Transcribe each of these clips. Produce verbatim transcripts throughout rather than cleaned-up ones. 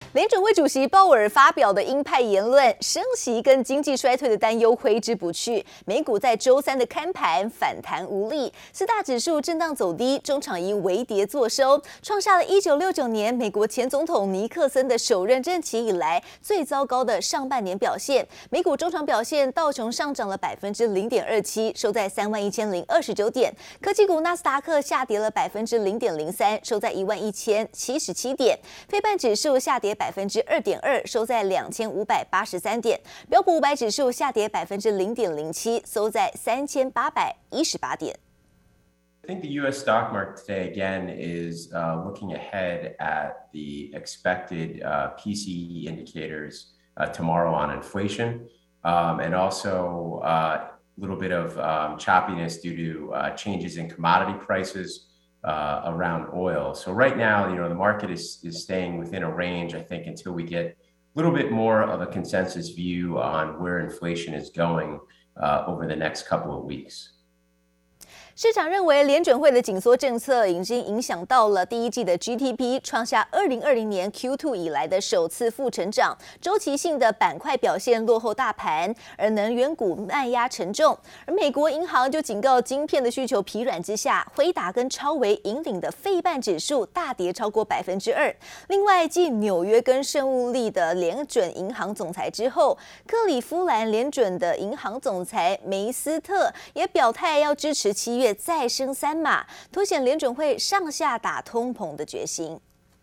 聯準會主席鮑爾發表的鷹派言論，升息跟經濟衰退的擔憂揮之不去。美股在周三的開盤反彈無力，四大指數震盪走低，終場以微跌作收，創下了一九六九年美國前總統尼克森的首任任期以來最糟糕的上半年表現。美股終場表現，道瓊上漲了百分之零點二七，收在三萬一千零二十九點；科技股納斯達克下跌了百分之零點零三，收在一萬一千七十七點；費半指數下跌百分之二點二，收在兩千五百八十三點；標普五百指數下跌百分之零點零七，收在三千八百一十八點。 I think the U S stock market today again is uh, looking ahead at the expected uh, P C E indicators uh, tomorrow on inflation, um, and also a uh, little bit of um, choppiness due to uh, changes in commodity prices. Uh, around oil. So right now, you know, the market is, is staying within a range, I think, until we get a little bit more of a consensus view on where inflation is going uh, over the next couple of weeks. 市場認為，聯準會的緊縮政策已經影響到了第一季的 G D P， 創下二零二零年 Q 二 以來的首次負成長。週期性的板塊表現落後大盤，而能源股賣壓沉重。而美國銀行就警告，晶片的需求疲軟之下，輝達跟超微引領的費半指數大跌超過百分之二。另外，繼紐約跟聖物利的聯準銀行總裁之後，克里夫蘭聯準的銀行總裁梅斯特也表態要支持七月再升三碼，凸顯聯準會上下打通膨的決心。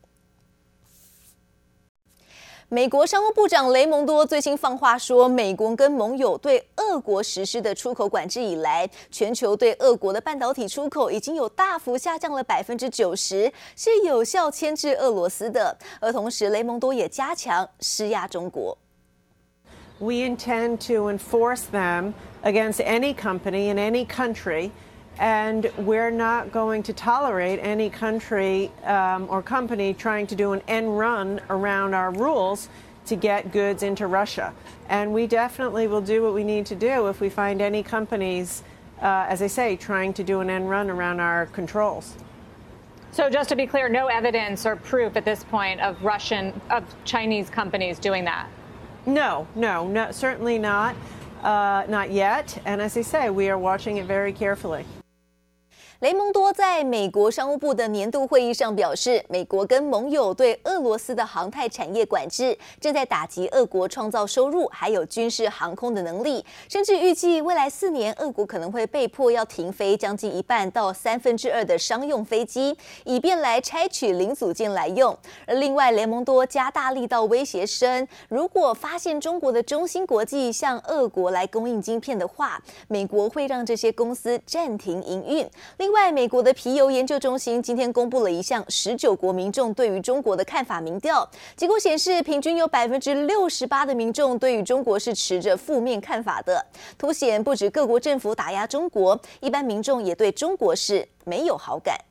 美國商務部長雷蒙多最新放話說，美國跟盟友對俄國實施的出口管制以來，全球對俄國的半導體出口已經有大幅下降了百分之九十，是有效牽制俄羅斯的。而同時，雷蒙多也加強施壓中國。 We intend to enforce them against any company in any country. And we're not going to tolerate any country um, or company trying to do an end run around our rules to get goods into Russia. And we definitely will do what we need to do if we find any companies, uh, as I say, trying to do an end run around our controls. So just to be clear, no evidence or proof at this point of Russian, of Chinese companies doing that? No, no, no, certainly not. Uh, not yet. And as I say, we are watching it very carefully. 雷蒙多在美國商務部的年度會議上表示，美國跟盟友對俄羅斯的航太產業管制，正在打擊俄國創造收入還有軍事航空的能力，甚至預計未來四年，俄國可能會被迫要停飛將近一半到三分之二的商用飛機，以便來拆取零組件來用。而另外，雷蒙多加大力道威脅聲，如果發現中國的中芯國際向俄國來供應晶片的話，美國會讓這些公司暫停營運。另外，美國的皮尤研究中心今天公布了一項十九國民眾對於中國的看法民調，結果顯示，平均有百分之六十八的民眾對於中國是持着負面看法的，凸顯不止各國政府打壓中國，一般民眾也對中國是沒有好感。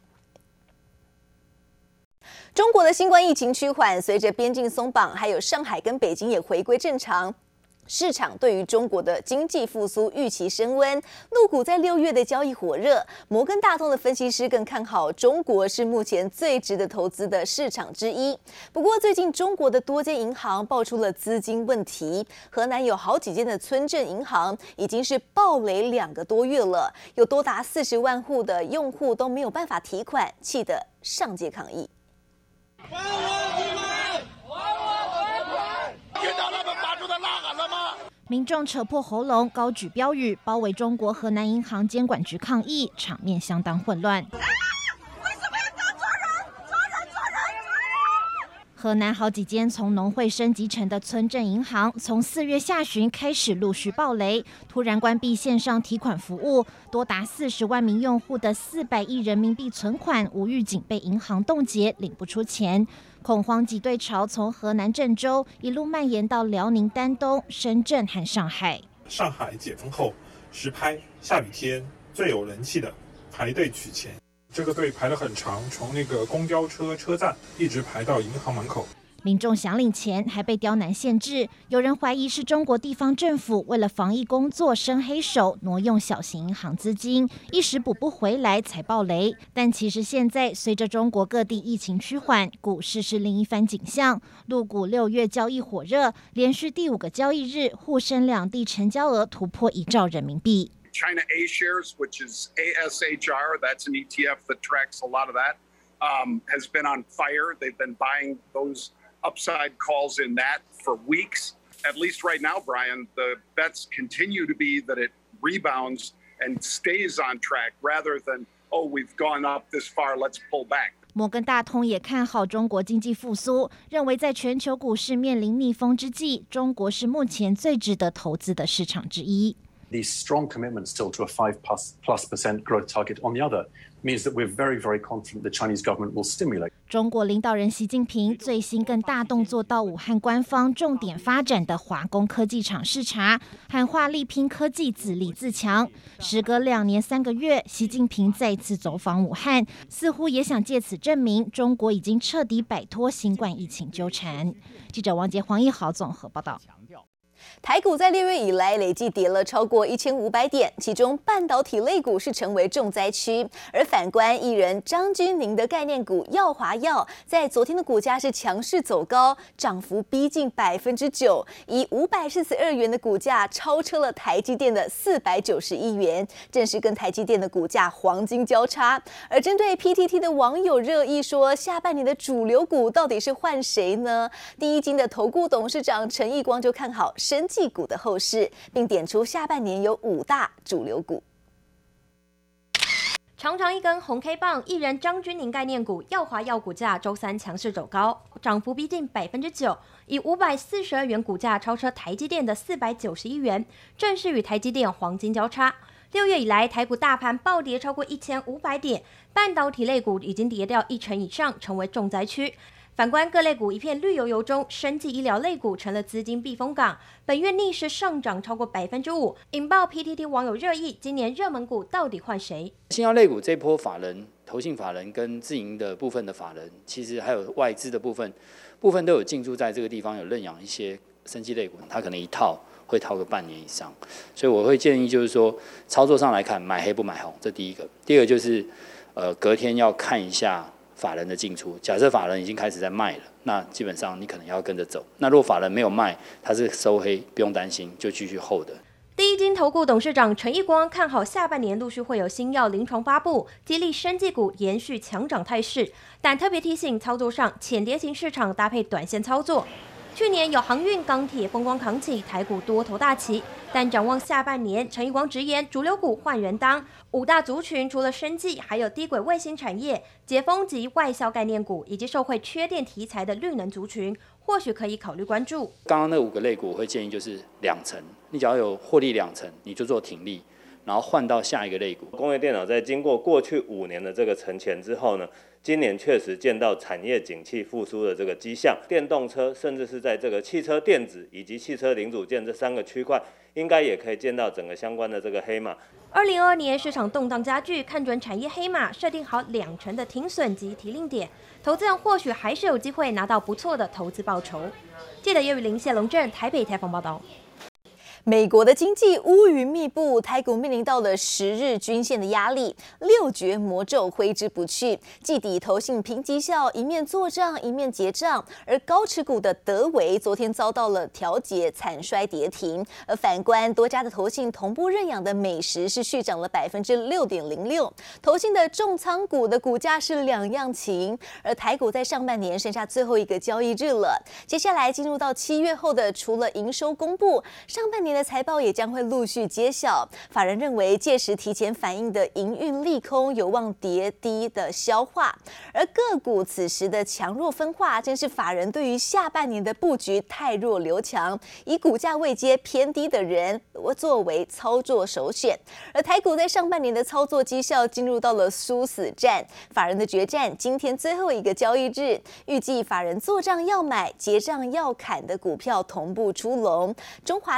中國的新冠疫情趨緩，隨着邊境鬆綁，還有上海跟北京也回歸正常。市場對於中國的經濟復甦預期升溫，陸股在六月的交易火熱。摩根大通的分析師更看好中國是目前最值得投資的市場之一。不過，最近中國的多間銀行爆出了資金問題，河南有好幾間的村鎮銀行已經是暴雷兩個多月了，有多達四十萬戶的用戶都沒有辦法提款，氣得上街抗議。還我提款！還我還款！聽到他們發出的吶喊了嗎？民眾扯破喉嚨，高舉標語，包圍中國河南銀行監管局抗議，場面相當混亂。啊！為什麼要搞抓人？抓人！抓人！抓人！河南好幾間從農會升級成的村鎮銀行，從四月下旬開始陸續暴雷，突然關閉線上提款服務，多達四十萬名用戶的四百億人民幣存款無預警被銀行凍結，領不出錢。恐慌擠兌潮從河南鄭州一路蔓延到遼寧丹東、深圳和上海。 上海解封後，實拍下雨天最有人氣的排隊取錢，這個隊排得很長，從那個公交車車站一直排到銀行門口。 民眾想領錢還被刁難限制，有人懷疑是中國地方政府為了防疫工作伸黑手，挪用小型銀行資金，一時補不回來才爆雷。但其實現在隨着中國各地疫情趨緩，股市是另一番景象。陸股六月交易火熱，連續第五個交易日，滬深兩地成交額突破一兆人民幣。 China A shares, which is A S H R, that's an E T F that tracks a lot of that, um, has been on fire. They've been buying those upside calls in that for weeks. At least right now, Brian, the bets continue to be that it rebounds and stays on track rather than, oh, we've gone up this far, let's pull back. 摩根大通也看好中国經濟復甦，認為在全球股市面臨逆風之際，中國是目前最值得投資的市場之一。 The strong commitment still to a five plus, plus percent growth target on the other means that we're very, very confident the Chinese government will stimulate. 中國領導人習近平最新更大動作到武漢官方重點發展的華工科技廠視察，喊話力拼科技自立自強。時隔兩年三個月，習近平再次走訪武漢，似乎也想借此證明中國已經徹底擺脫新冠疫情糾纏。記者王杰、黃義豪綜合報道。 台股在六月以來累計跌了超過一千五百點，其中半導體類股是成為重災區。而反觀藝人張鈞甯的概念股耀華藥，在昨天的股價是強勢走高，漲幅逼近百分之九，以五百四十二元的股價超車了台積電的四百九十一元，正是跟台積電的股價黃金交叉。而針對 P T T 的網友熱議說，下半年的主流股到底是換誰呢？第一金的投顧董事長陳義光就看好生技股的後市，並點出下半年有五大主流股。 長長一根紅 K 棒，藝人張鈞甯概念股耀華藥股價周三強勢走高，漲幅逼近百分之九，以五百四十二元股價超車台積電的四百九十一元，正是與台積電黃金交叉。六月以來，台股大盤暴跌超過一千五百點，半導體類股已經跌掉一成以上，成為重災區。反觀各類股一片綠油油中，生技醫療類股成了資金避風港，本月逆勢上漲超過百分之五，引爆 P T T 網友熱議：今年熱門股到底換誰？ 新藥類股這波法人、投信法人跟自營的部分的法人，其實還有外資的部分，部分都有進駐在這個地方，有認養一些生技類股，它可能一套會套個半年以上，所以我會建議就是說，操作上來看，買黑不買紅，這第一個。第二個就是，呃，隔天要看一下法人的進出，假設法人已經開始在賣了，那基本上你可能要跟着走。那如果法人沒有賣，他是收黑，不用擔心，就繼續 hold 的。 第一金投顧董事長陳義光看好下半年陸續會有新藥臨床發布，激勵生技股延續強漲態勢，但特別提醒操作上淺碟型市場搭配短線操作。去年有航運、鋼鐵風光扛起，台股多頭大起。但展望下半年，陳義光直言，主流股換人當，五大族群除了生技，還有低軌衛星產業、解封及外銷概念股，以及受惠缺電題材的綠能族群，或許可以考慮關注。 剛剛那五個類股，我會建議就是兩成，你只要有獲利兩成，你就做停利，然後換到下一個類股。 工業電腦在經過過去五年的這個沉潛之後呢，今年確實見到產業景氣復甦的這個跡象，電動車甚至是在這個汽車電子以及汽車零組件這三個區塊，應該也可以見到整個相關的這個黑馬。 二零二二年市場動盪加劇，看準產業黑馬，設定好兩成的停損及提令點，投資人或許還是有機會拿到不錯的投資報酬。記者葉玉玲、謝龍正台北採訪報道。 美國的經濟烏雲密布，台股面臨到了十日均線的壓力，六絕魔咒揮之不去。季底投信評績效，一面做賬一面結賬，而高持股的德微昨天遭到了調節，慘衰跌停。而反觀多家的投信同步認養的美食是續漲了百分之六點零六，投信的重倉股的股價是兩樣情。而台股在上半年剩下最後一個交易日了，接下來進入到七月後的，除了營收公布，上半年的財報也將會陸續揭曉，法人認為屆時提前反映的營運利空有望跌低的消化，而個股此時的強弱分化，正是法人對於下半年的布局汰弱留強，以股價位階偏低的人作為操作首選。而台股在上半年的操作績效進入到了殊死戰，法人的決戰今天最後一個交易日，預計法人做賬要買、結賬要砍的股票同步出籠，中華電、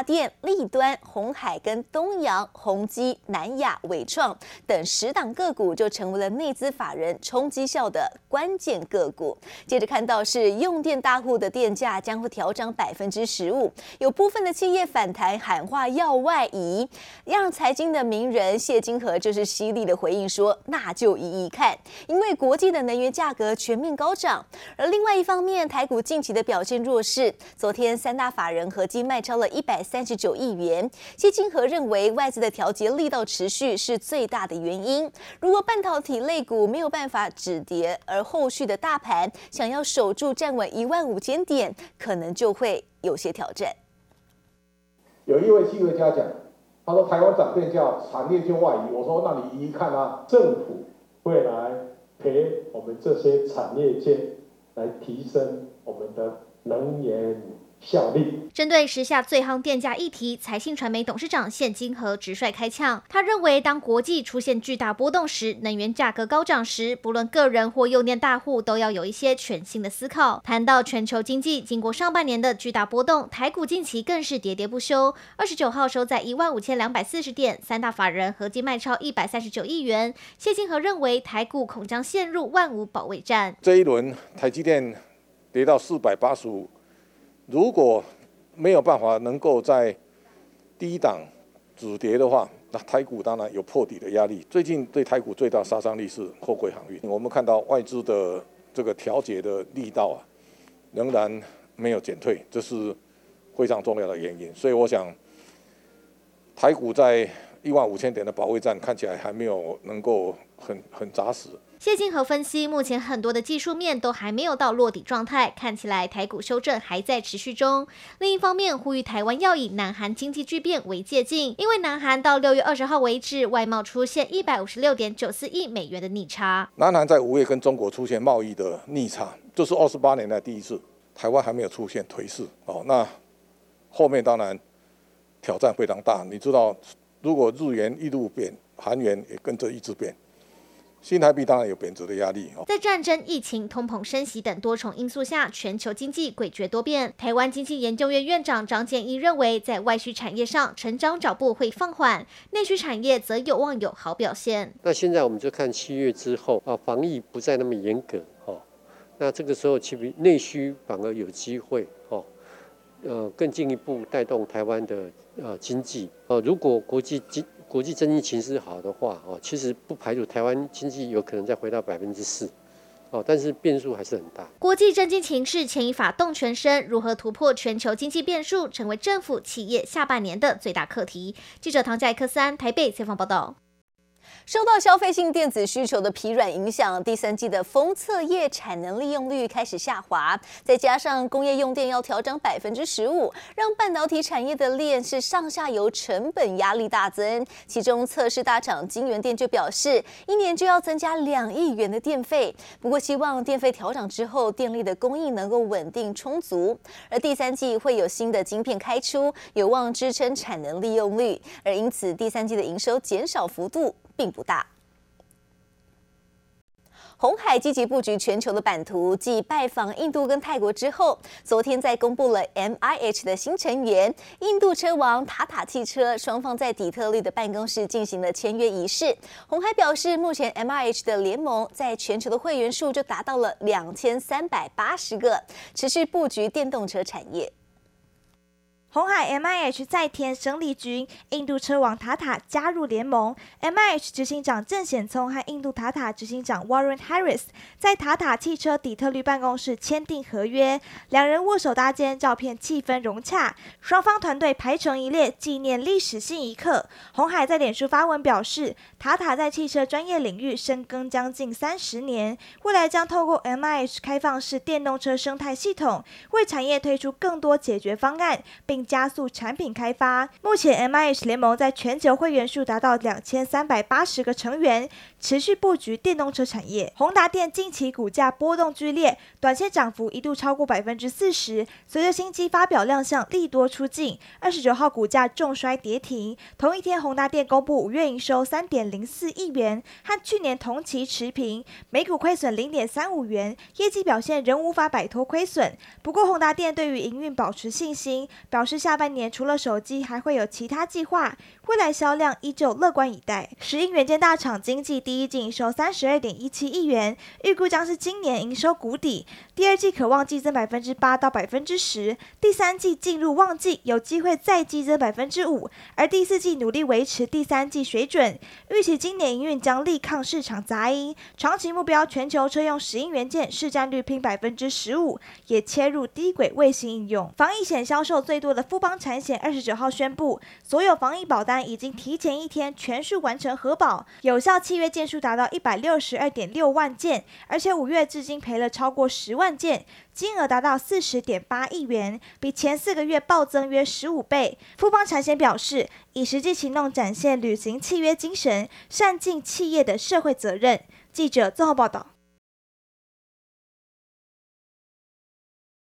立端、鴻海跟東陽、宏基、南亞、緯創等十檔個股就成為了內資法人衝績效的關鍵個股。接着看到是用電大戶的電價將會調漲百分之十五，有部分的企業反彈喊話要外移，讓財經的名人謝金河就是犀利的回應說，那就移移看，因為國際的能源價格全面高漲。而另外一方面，台股近期的表現弱勢，昨天三大法人合計賣超了一百三十九億元。謝金河認為外資的調節力道持續是最大的原因。如果半導體類股沒有辦法止跌，而後續的大盤想要守住站穩一萬五千點，可能就會有些挑戰。 有一位企業家講，他說台灣漲電價，產業就外移。我說那你移移看啊，政府會來陪我們這些產業界來提升我們的能源效率。 針對時下最夯電價議題，財信傳媒董事長謝金河直率開嗆。他認為，當國際出現巨大波動時，能源價格高漲時，不論個人或用電大戶都要有一些全新的思考。談到全球經濟，經過上半年的巨大波動，台股近期更是喋喋不休。二十九號收在一萬五千兩百四十點，三大法人合計賣超一百三十九億元。謝金河認為，台股恐將陷入萬五保衛戰。 這一輪台積電跌到四百八十五。如果沒有辦法能夠在低檔止跌的話，那台股當然有破底的壓力。最近對台股最大殺傷力是貨櫃航運，我們看到外資的這個調節的力道啊，仍然沒有減退，這是非常重要的原因。所以我想，台股在一萬五千點的保衛戰看起來還沒有能夠很很紮實。 謝金河分析，目前很多的技術面都還沒有到落底狀態，看起來台股修正還在持續中。另一方面，呼籲台灣要以南韓經濟巨變為借鏡，因為南韓到六月二十號為止，外貿出現一百五十六點九四億美元的逆差。 南韓在五月跟中國出現貿易的逆差，這是二十八年來第一次，台灣還沒有出現頹勢哦。那後面當然挑戰非常大，你知道，如果日元一路貶，韓元也跟着一直貶。新台幣當然有貶值的壓力。 在戰爭、疫情、通膨、升息等多重因素下，全球經濟詭譎多變。台灣經濟研究院院長張建一認為，在外需產業上，成長腳步會放緩，內需產業則有望有好表現。 那現在我們就看七月之後啊，防疫不再那麼嚴格哦，那這個時候其實內需反而有機會哦，呃，更進一步帶動台灣的呃經濟。呃，如果國際經國際經濟情勢好的話，哦，其實不排除台灣經濟有可能再回到百分之四，哦，但是變數還是很大。 國際政經情勢牽一髮動全身，如何突破全球經濟變數，成為政府企業下半年的最大課題。記者唐佳克斯安台北採訪報道。 受到消費性電子需求的疲軟影響，第三季的封測業產能利用率開始下滑，再加上工業用電要調漲百分之十五，讓半導體產業的鏈是上下游成本壓力大增。其中測試大廠京元電就表示，一年就要增加兩億元的電費，不過希望電費調漲之後，電力的供應能夠穩定充足。而第三季會有新的晶片開出，有望支撐產能利用率，而因此第三季的營收減少幅度並不大。鴻海積極布局全球的版圖，繼拜訪印度跟泰國之後，昨天再公布了 M I H 的新成員——印度車王塔塔汽車，雙方在底特律的辦公室進行了簽約儀式。鴻海表示，目前 M I H 的聯盟在全球的會員數就達到了兩千三百八十個，持續布局電動車產業。 鴻海 M I H 再添生力軍，印度車王塔塔加入聯盟。M I H 執行長鄭顯聰和印度塔塔執行長 Warren Harris 在塔塔汽車底特律辦公室簽訂合約，兩人握手搭肩，照片氣氛融洽。雙方團隊排成一列，紀念歷史性一刻。鴻海在臉書發文表示，塔塔在汽車專業領域深耕將近三十年，未來將透過 M I H 開放式電動車生態系統，為產業推出更多解決方案，並加速產品開發。目前 M I H 聯盟在全球會員數達到兩千三百八十個成員，持續布局電動車產業。宏達電近期股價波動劇烈，短線漲幅一度超過百分之四十。隨着新機發表亮相，利多出盡，二十九號股價重摔跌停。同一天，宏達電公布五月營收三點零四億元，和去年同期持平，每股虧損零點三五元，業績表現仍無法擺脫虧損。不過，宏達電對於營運保持信心，表示，下半年除了手機，還會有其他計劃，未來銷量依舊樂觀以待。石英元件大廠經濟第一季營收三十二點一七億元，預估將是今年營收谷底，第二季可望季增百分之八到百分之十，第三季進入旺季，有機會再季增百分之五，而第四季努力維持第三季水準。預期今年營運將力抗市場雜音，長期目標全球車用石英元件市占率拼百分之十五，也切入低軌衛星應用。防疫險銷售最多的富邦產險二十九號宣布，所有防疫保單已經提前一天全數完成核保，有效契約件數達到一百六十二點六萬件，而且五月至今賠了超過十萬件，金額達到四十點八億元，比前四個月暴增約十五倍。富邦產險表示，以實際行動展現履行契約精神，善盡企業的社會責任。記者綜合報道。